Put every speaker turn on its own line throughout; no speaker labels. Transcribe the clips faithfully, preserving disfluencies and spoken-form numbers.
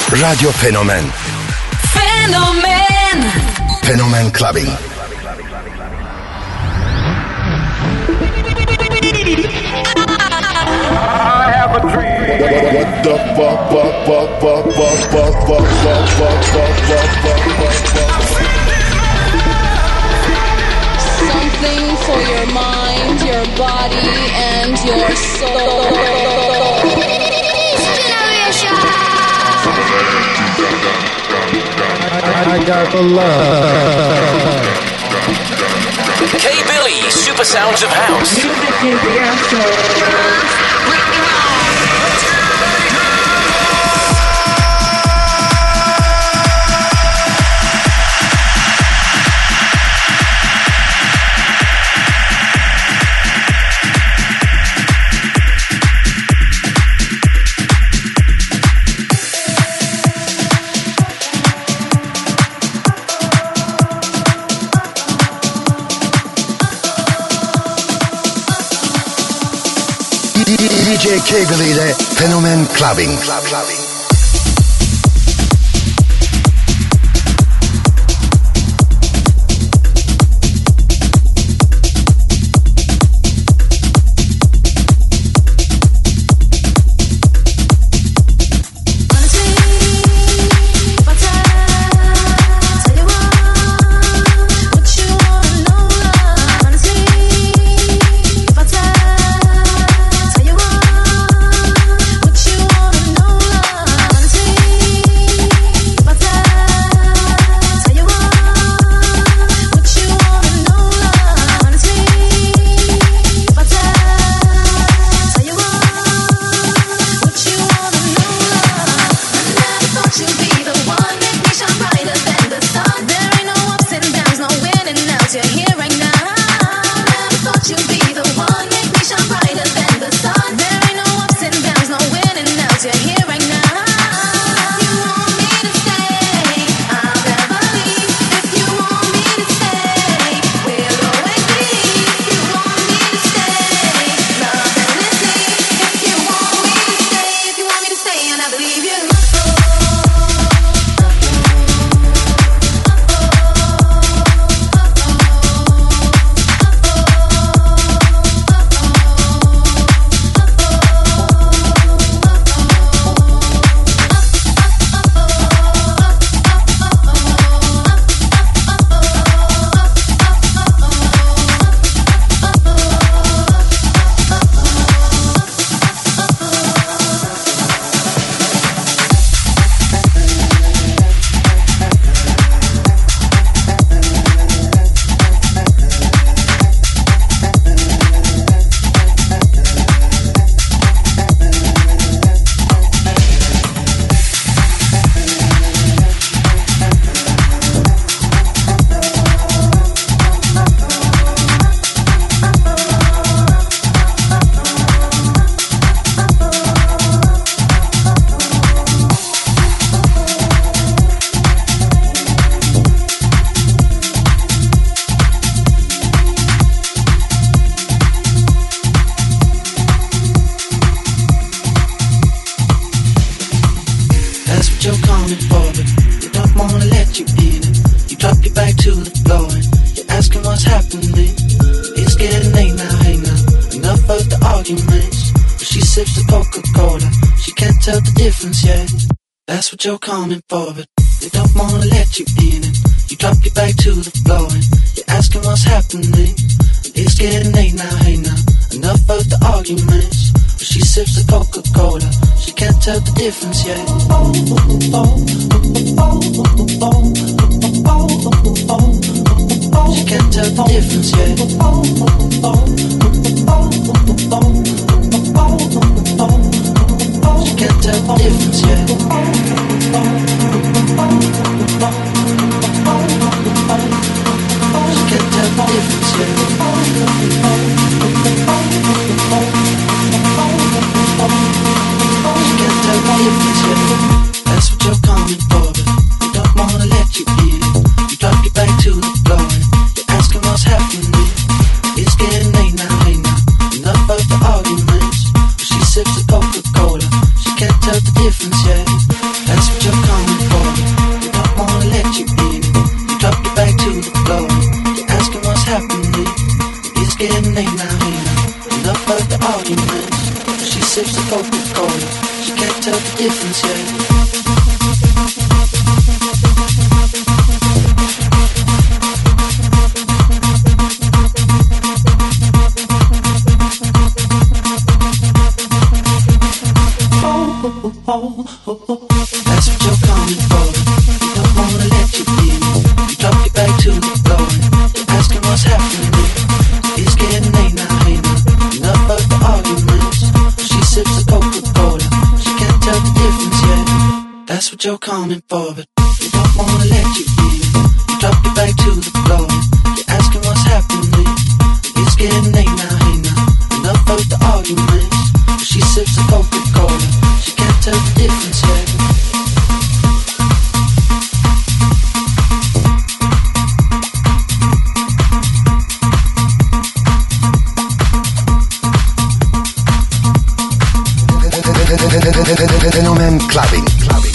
Radyo Fenomen.
Fenomen.
Fenomen Clubbing.
I have a dream. What the fuck, fuck, fuck, fuck, fuck, fuck, fuck, fuck, fuck, fuck, fuck, fuck, fuck.
Something for your mind, your body, and your soul.
I, I got the love.
K Billy, Super Sounds of House.
Music is the answer.
D J K Billy ile Fenomen Clubbing. Club, clubbing.
That's what you're coming for, but they don't wanna let you in it. You drop your back to the floor and you're asking what's happening. It's getting late now, hey now, enough of the arguments. But she sips the Coca-Cola, she can't tell the difference yet. She can't tell the difference yet. She can't tell the difference yet. She can't tell the difference yet. She can't tell the difference yet. That's what you're coming for, but they don't wanna let you in. You drop your back to the floor and you're asking what's happening. It's getting late now, hey now, enough of the arguments. But she sips the Coca-Cola, she can't tell the difference yet. That's what you're getting late now, hey now. Enough of the arguments. She sips the Coca-Cola. She can't tell the difference yet. That's what you're coming for. You don't wanna let you in. You drop your back to the floor. You're asking what's happening. It's getting late now, hey now. Enough of the arguments. She sips the Coca-Cola. She can't tell the difference yet. That's what you're coming for, but you don't wanna let you in. You drop your back to the floor. You're asking what's happening. It's getting late now, hey now. Enough of the arguments. She sips the Coca-Cola. She can't tell the difference yet.
Fenomen Clubbing. Clubbing.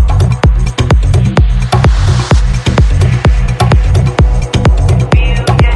You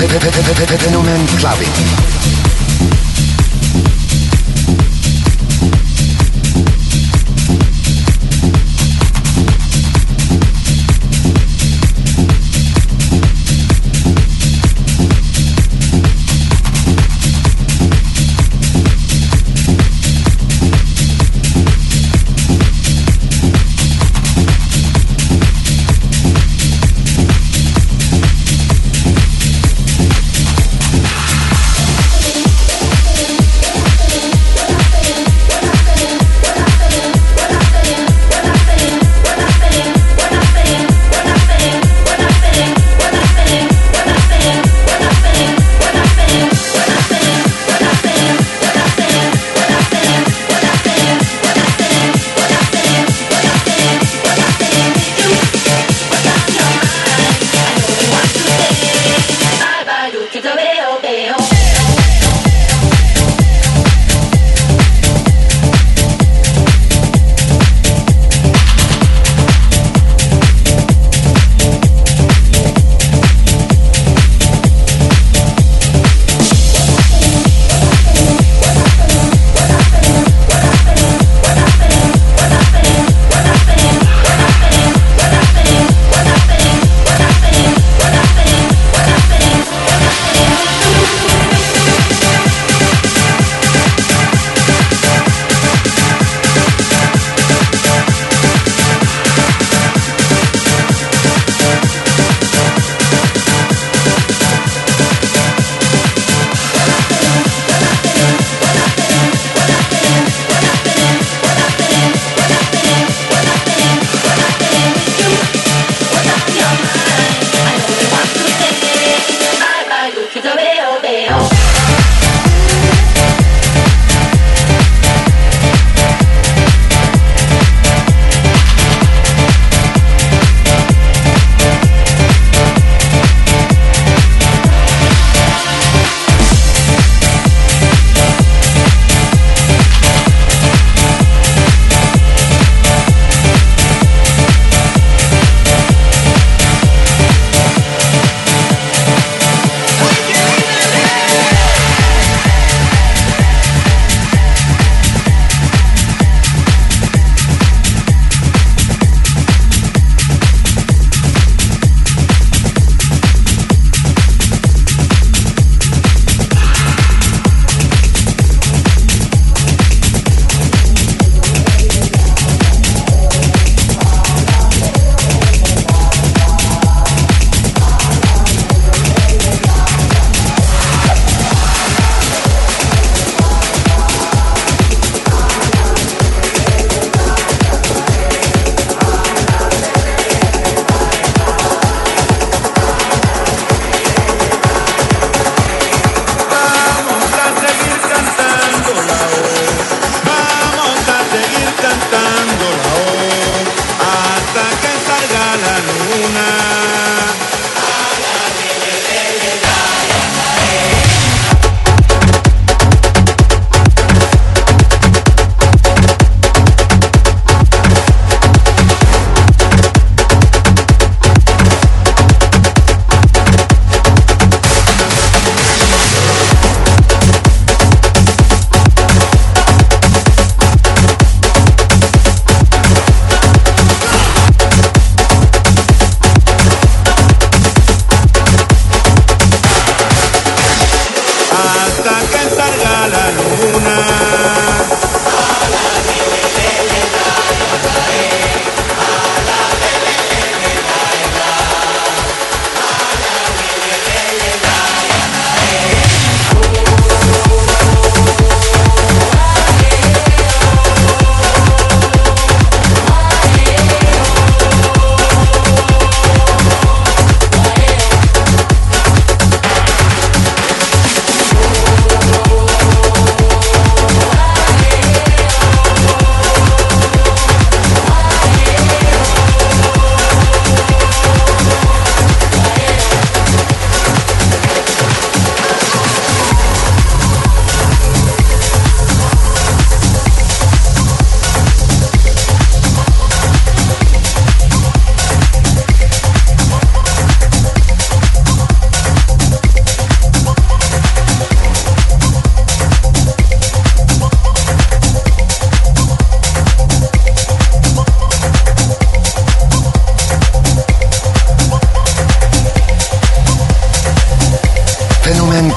Fenomen Clubbing.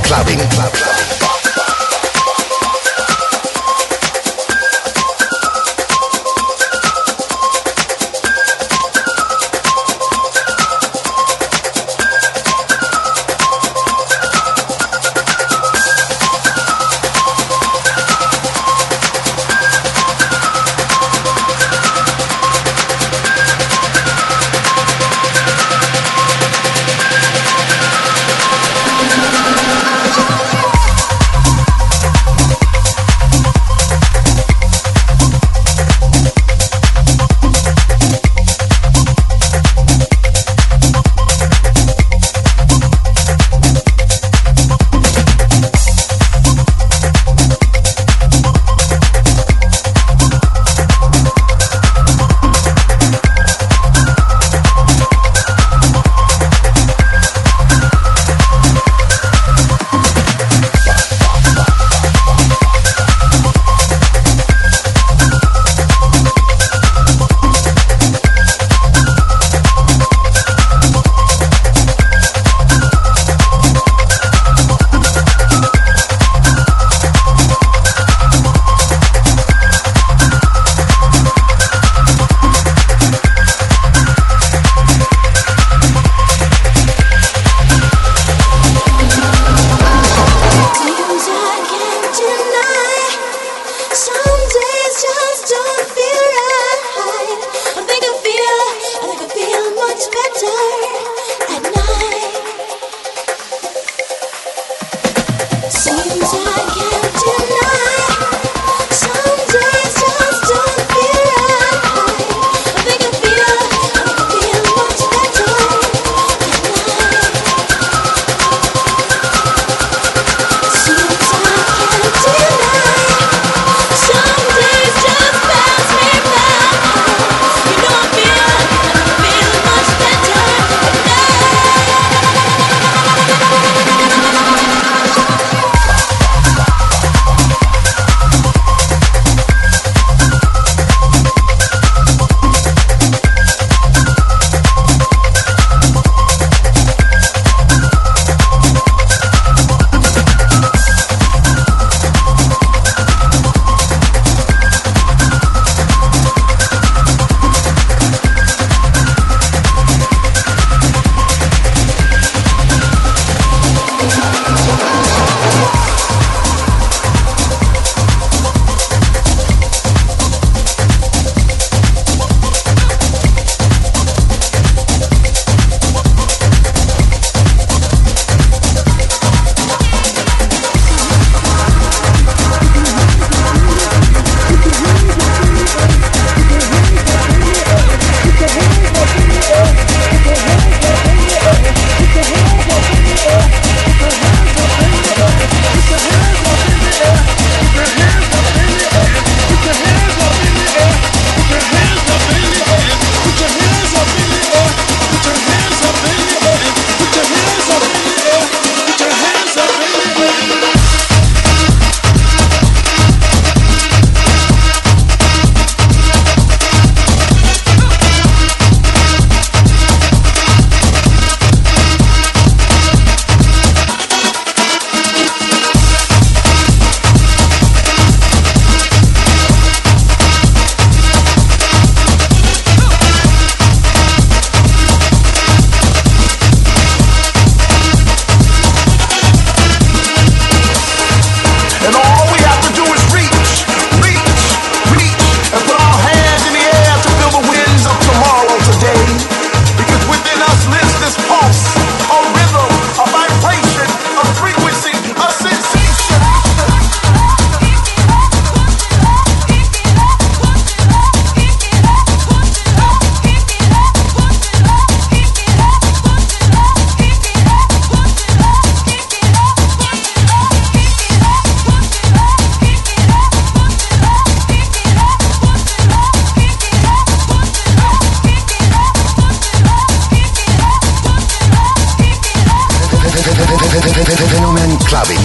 clubbing. Club, club. Fenomen Clubbing.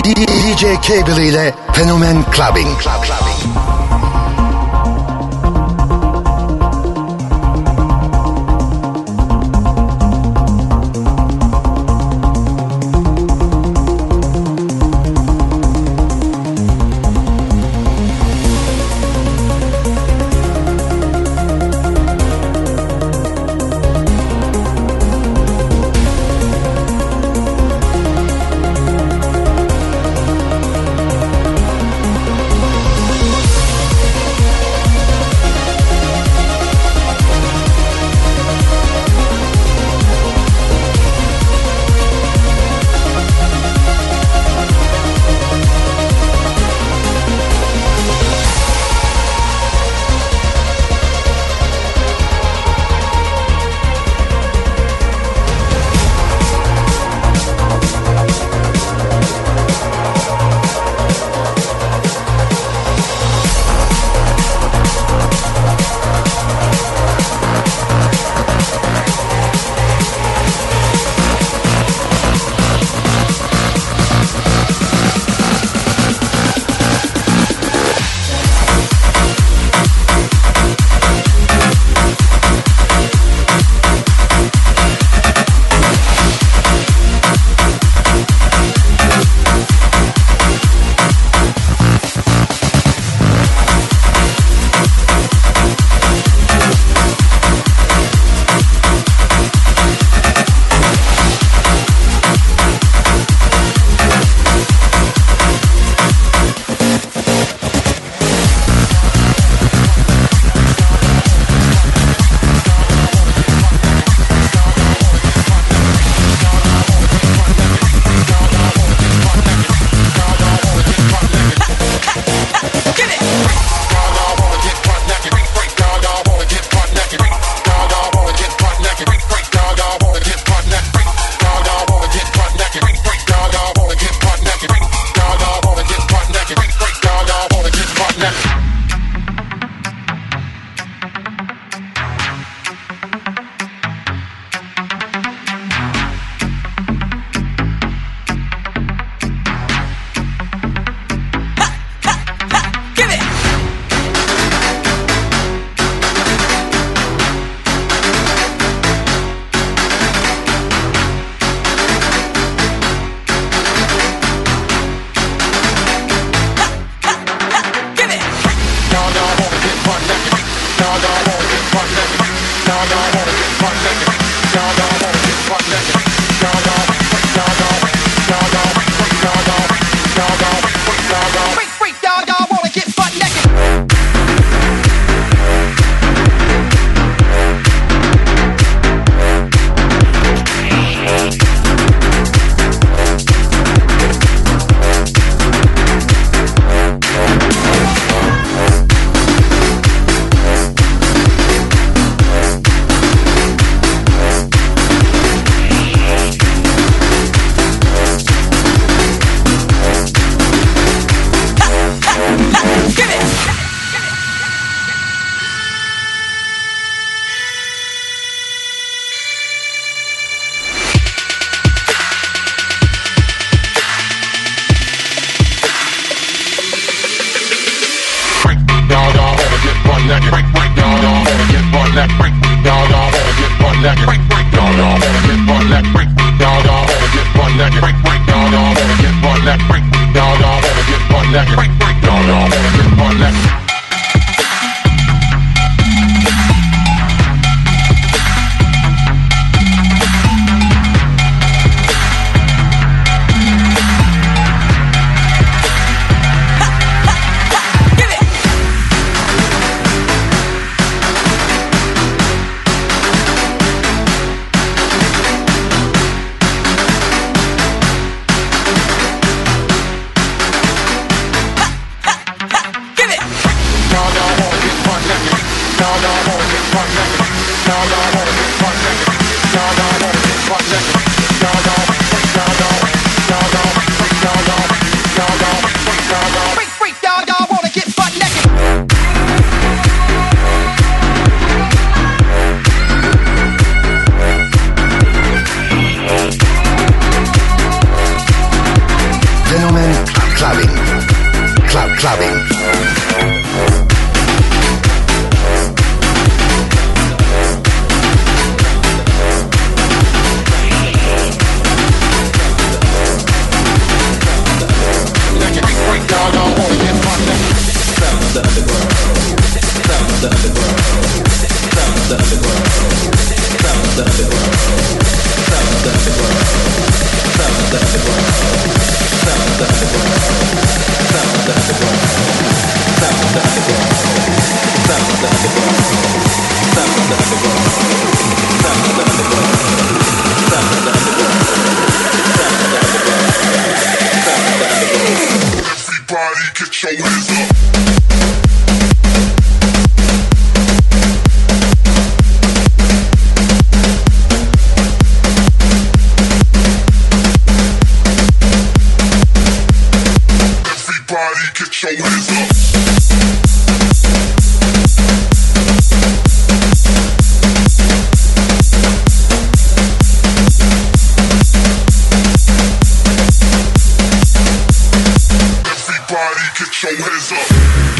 D J Cable ile Fenomen Clubbing. Club, clubbing. clubbing. Club clubbing.
Everybody get your hands up. Get your hands up. Everybody get your hands up.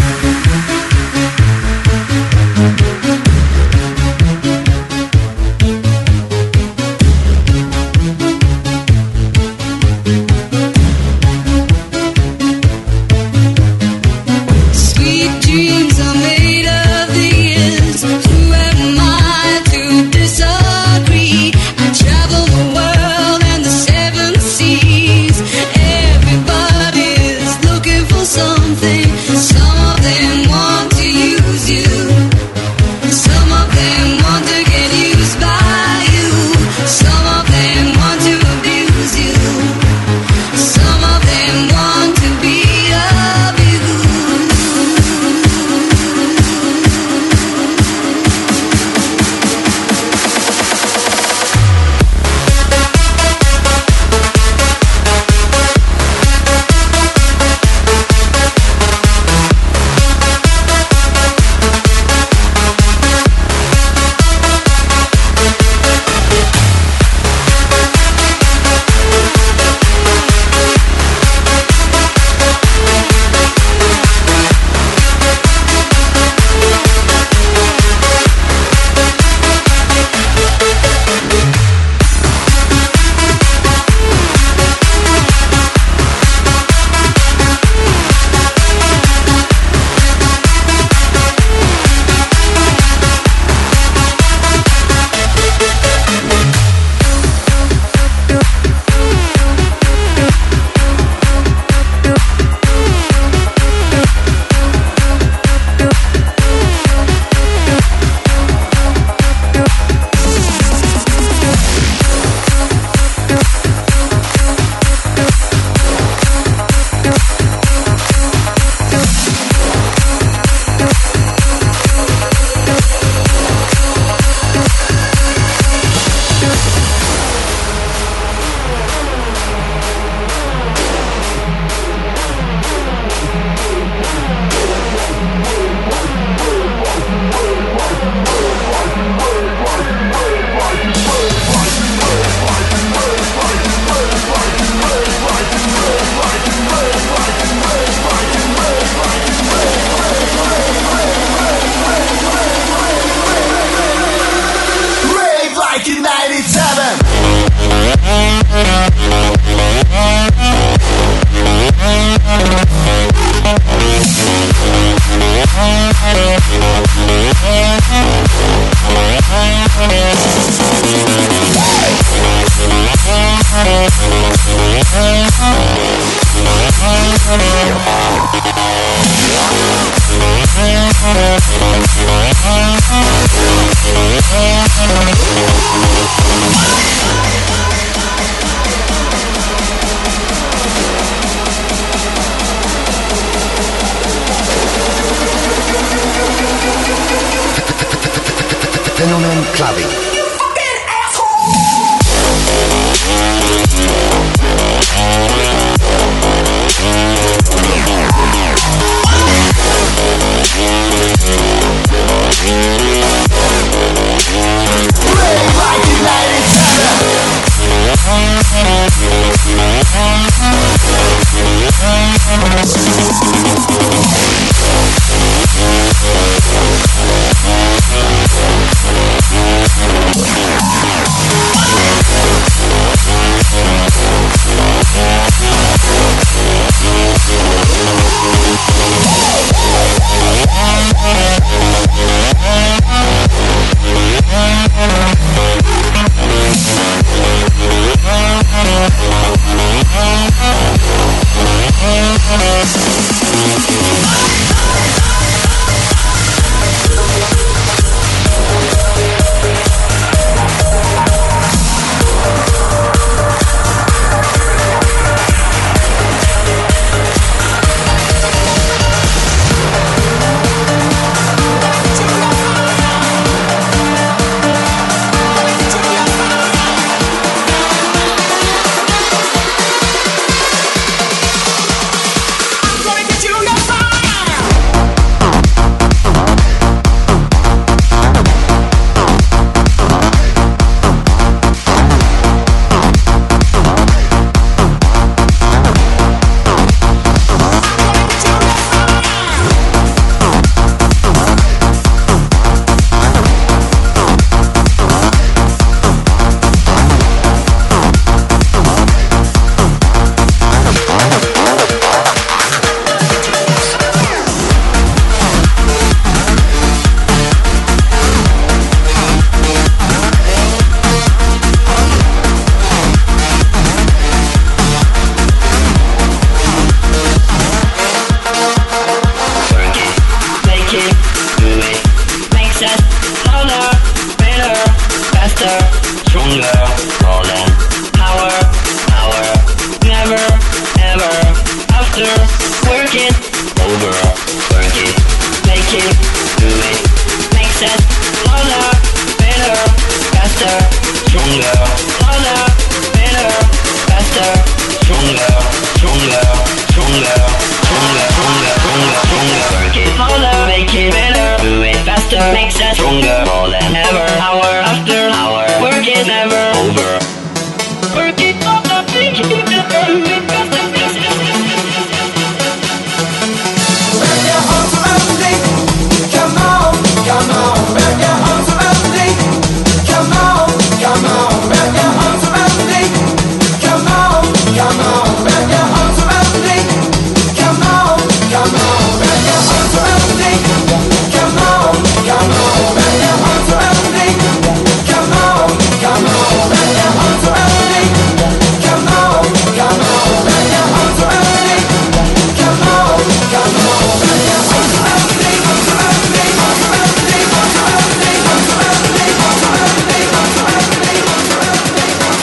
Fenomen Clubbing.
makes us stronger more than ever. Hour after hour, work is never over. Work it up, up, make it better.
Wrap your arms around me. Come on, come on. Wrap your arms around me. Come on, come on. Wrap your arms around me. Come on, come on. Wrap your arms around me. Come on, come on. Wrap your arms around me. Come on, come on. Wrap your arms around me. Come on, come on. Wrap your arms around me. Come on, come on. Wrap your arms around me. Come on, come on. Wrap your arms around me. Arms around me. Arms around me. Arms around me. Arms around me. Arms around me. Arms around me. Arms around me.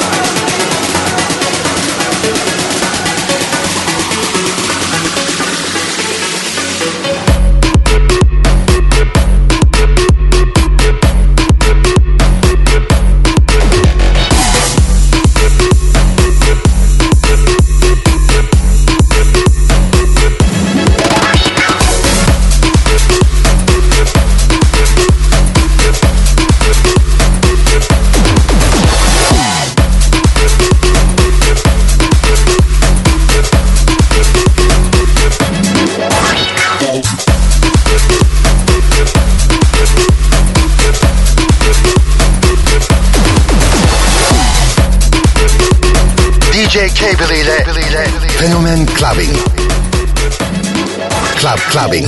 D J Cable ile Fenomen Clubbing. Club Clubbing.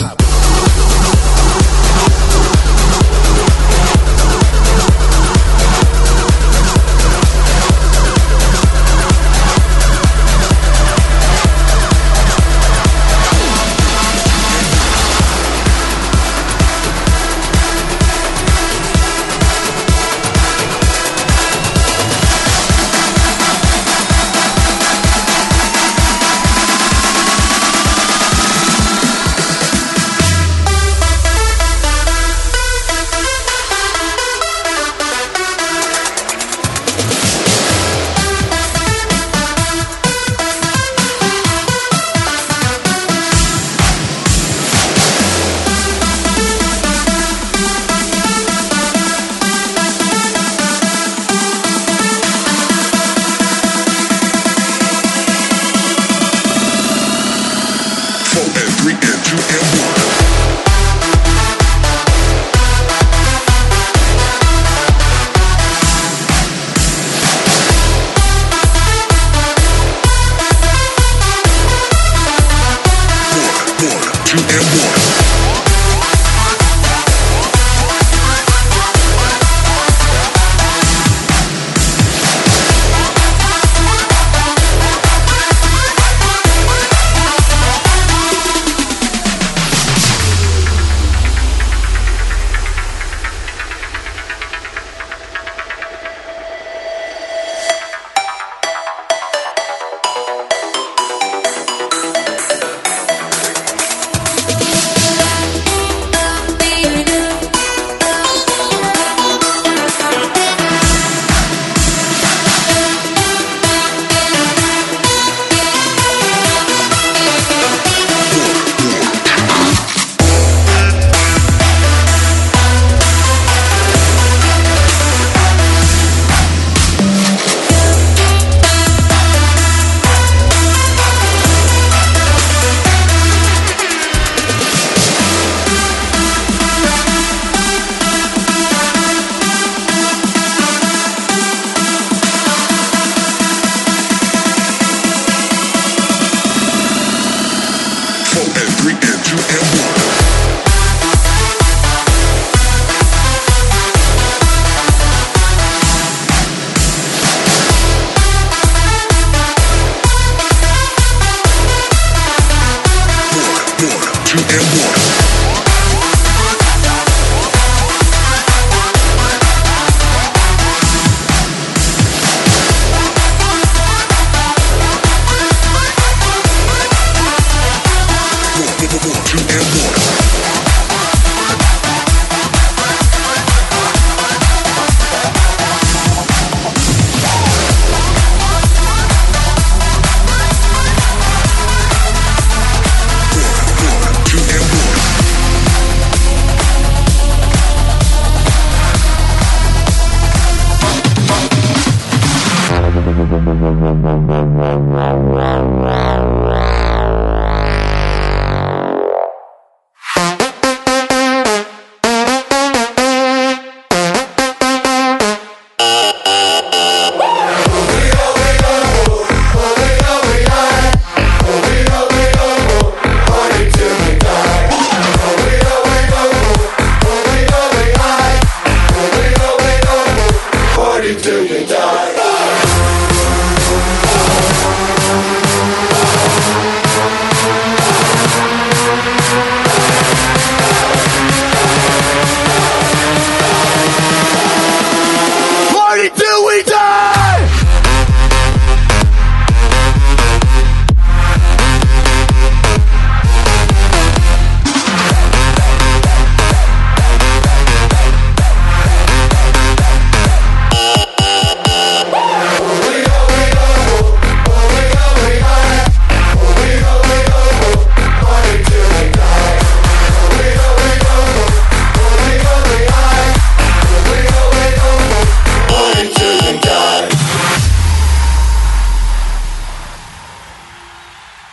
Two and one.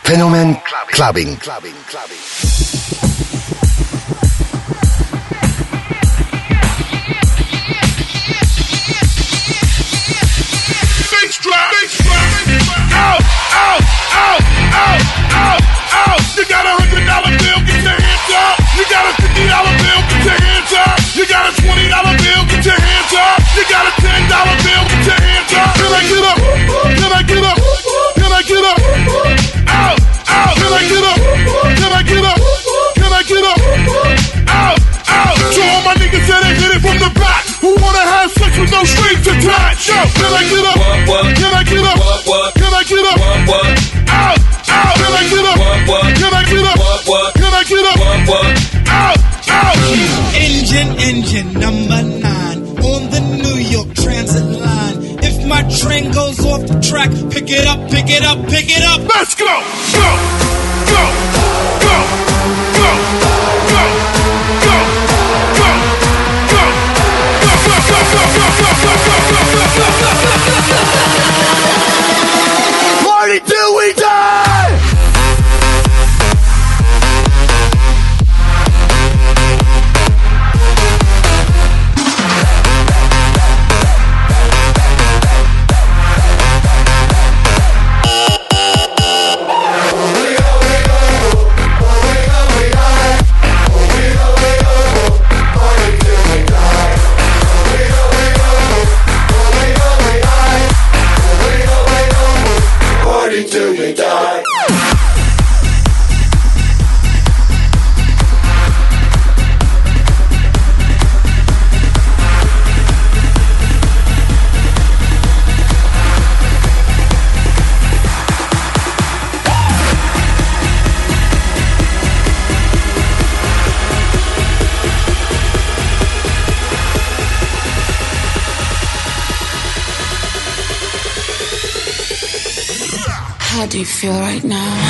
Fenomen Clubbing. Clubbing. Clubbing.
Out, out, out, out, out, out. You got a hundred dollar bill, get your hands up. You got a fifty dollar bill, get your hands up. You got a twenty dollar bill, get your hands up. You got a ten dollar bill, get your hands up. Can I get up? Can I get up? Can I get up? Out, out. Can I get up? Can I get up? Can I get up? Out, out. So all my niggas that ain't hit it from the back, who wanna have sex with no strings attached? Yo, can I get up? Can I get up? Can I get up? Out, out. Can I get up? Can I get up? Can I get up? Out, out.
Engine, engine number nine on the New York Transit line. If my train goes off the track, pick it up, pick it up, pick it up.
Let's go, go, go, go, go, go, go, go, go. Party till we die.
How do you feel right now?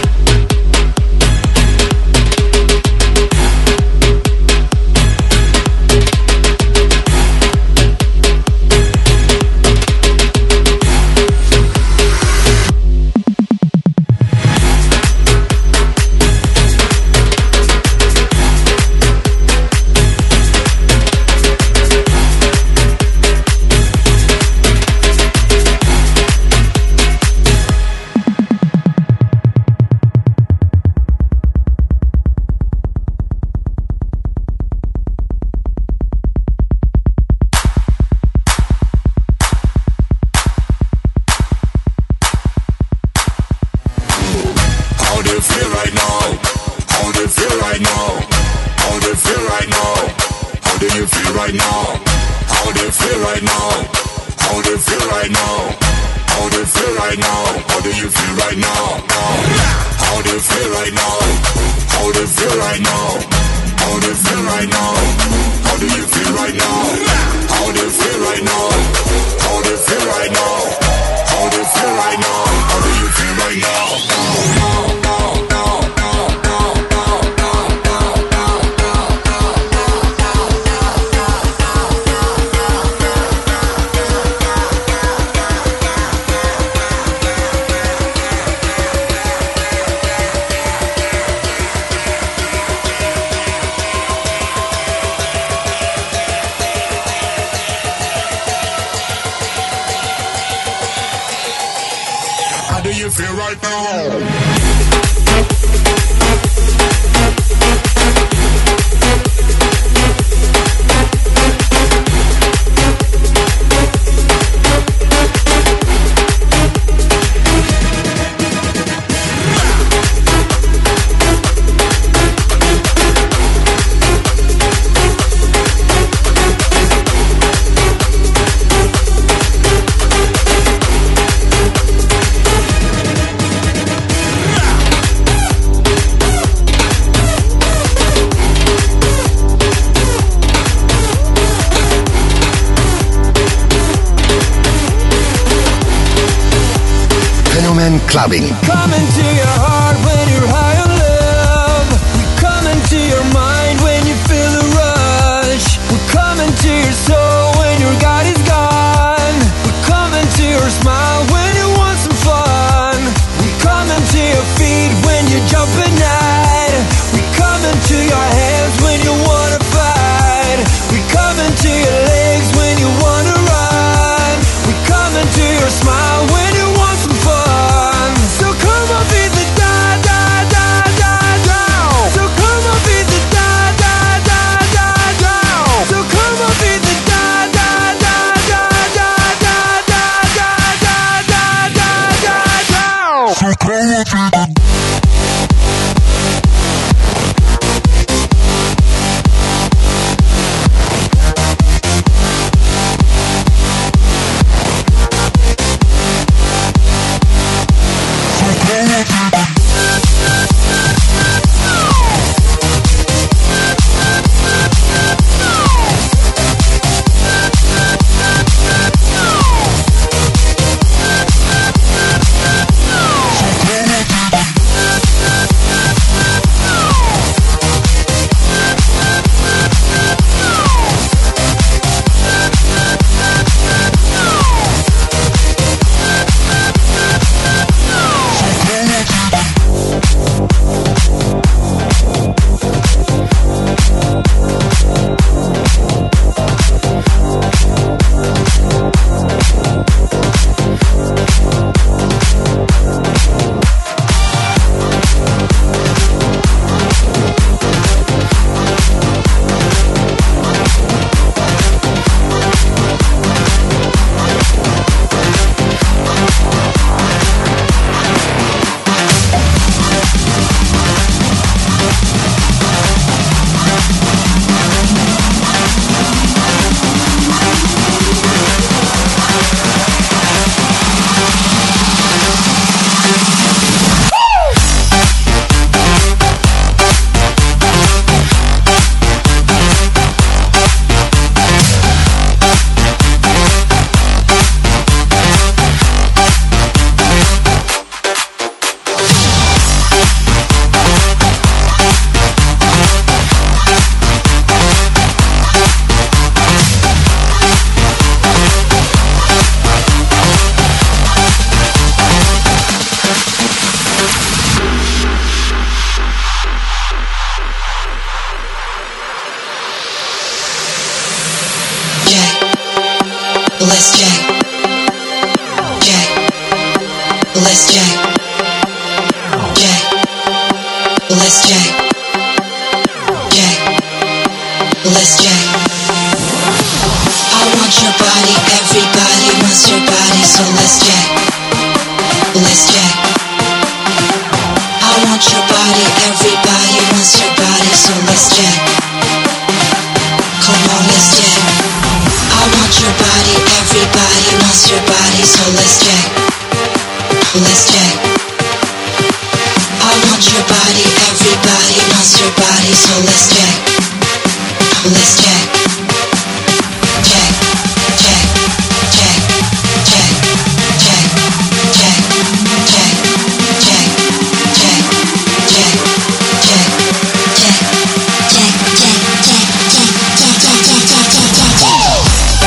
Clubbing.
Come into your heart when you're high on love. We come into your mind when you feel the rush. We come into your soul when your God is gone. We come into your smile when you want some fun. We come into your feet up at night. We come into your hands when you wanna fight. We come into your legs when you wanna run. We come into your smile when you want some fun. So come on, beat the da da da da down. So come on, beat the da da da da down. So come on, beat the da da da da da da da da da da da down. So come on, beat the
Let's jack. Jack. Let's jack. Jack. Let's jack. Jack. Let's jack. I want your body, everybody wants your body, so let's jack. Let's jack. I want your body, everybody wants your body, so let's jack. Come on, let's jack. I want your body, everybody wants your body, so let's jack. Let's jack. I want your body, everybody wants your body, so let's jack. Let's jack. Jack, jack, jack, jack, jack, jack, jack, jack, jack, jack, jack, jack, jack, jack, jack, jack, jack.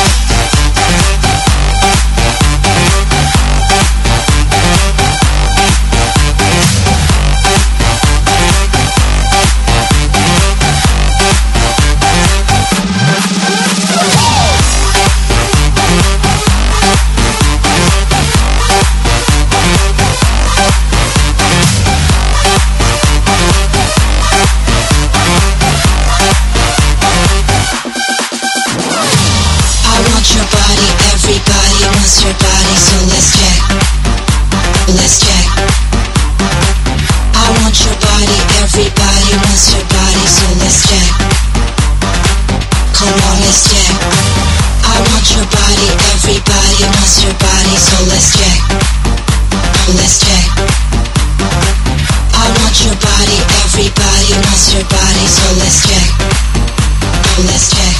Everybody wants your body, so let's jack. Let's jack. I want your body, everybody wants your body, so let's jack. Come on, let's jack. I want your body, everybody wants your body, so let's jack. Let's jack. I want your body, everybody wants your body, so let's jack. Let's jack.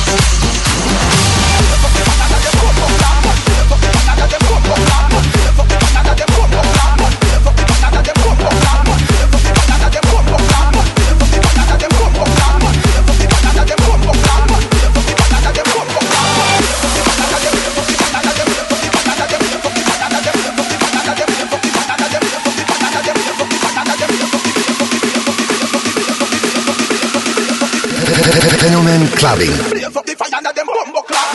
Clubbing.
Blaze up the fire and them bumbo clap.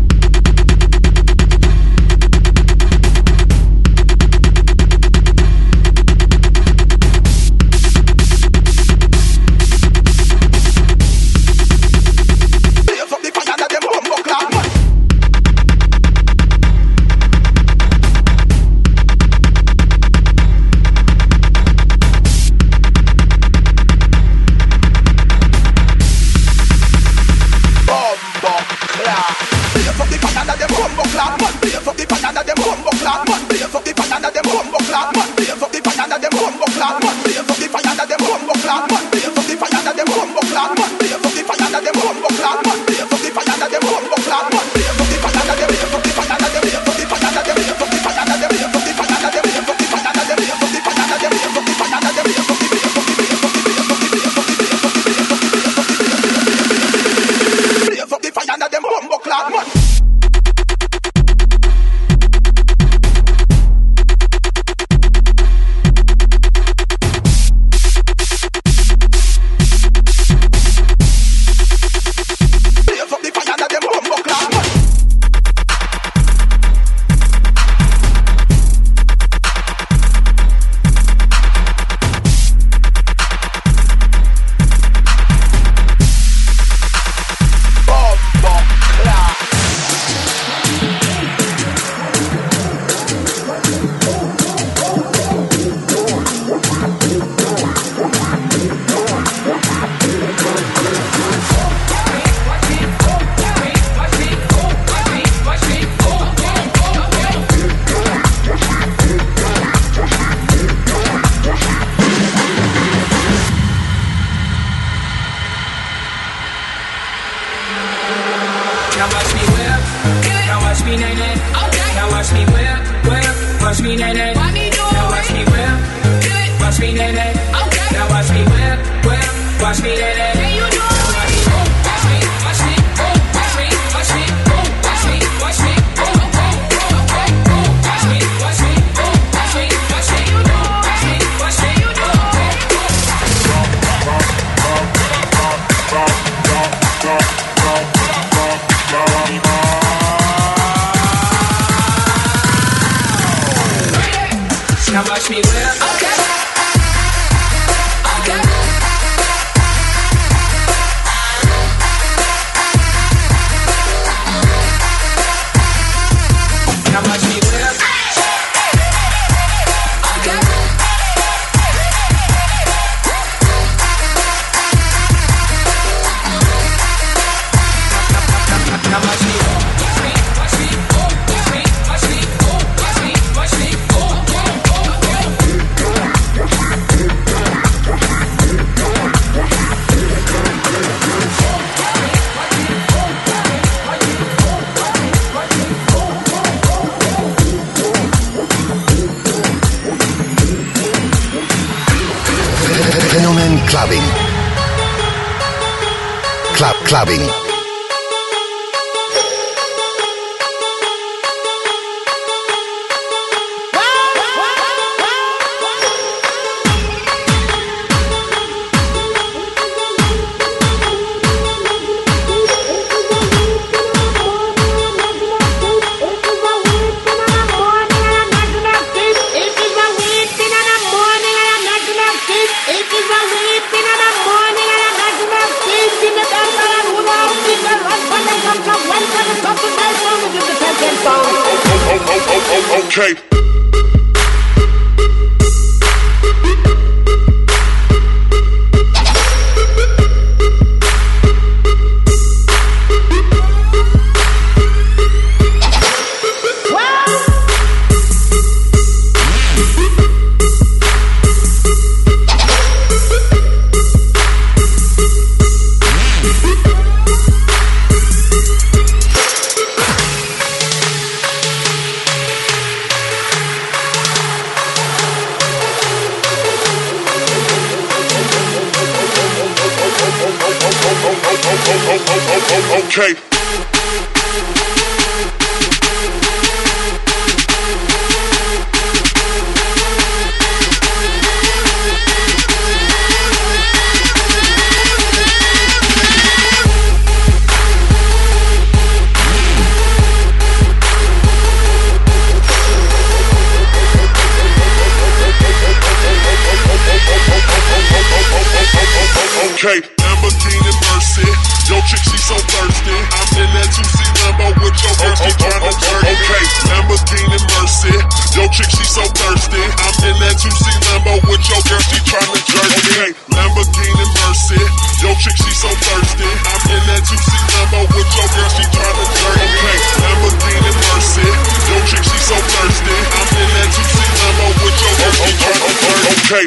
Clubbing. Club clubbing.
Okay. Okay. Okay, Lamborghini Mercy. Yo, chick, she so thirsty. I'm in that two C Lambo with your girl, she tryna jerk. Okay, Lamborghini Mercy. Yo, chick, she so thirsty. I'm in that two C Lambo with your girl, she tryna jerk. Okay, Lamborghini Mercy. Yo, chick, she so thirsty. I'm in that two C Lambo with your girl, she tryna jerk. Okay, Lamborghini Mercy. Yo, chick, she so thirsty. I'm in that two C Lambo with your girl, she tryna jerk. Okay.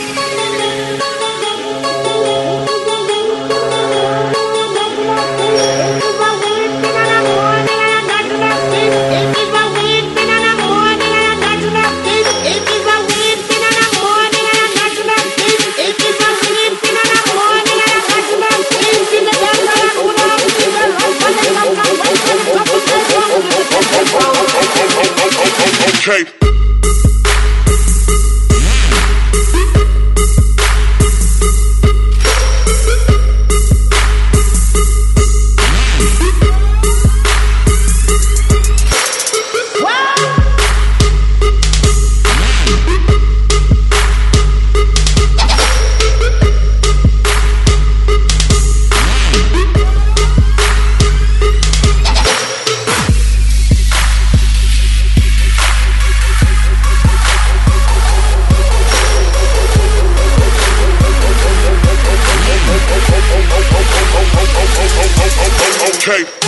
Okay. Okay.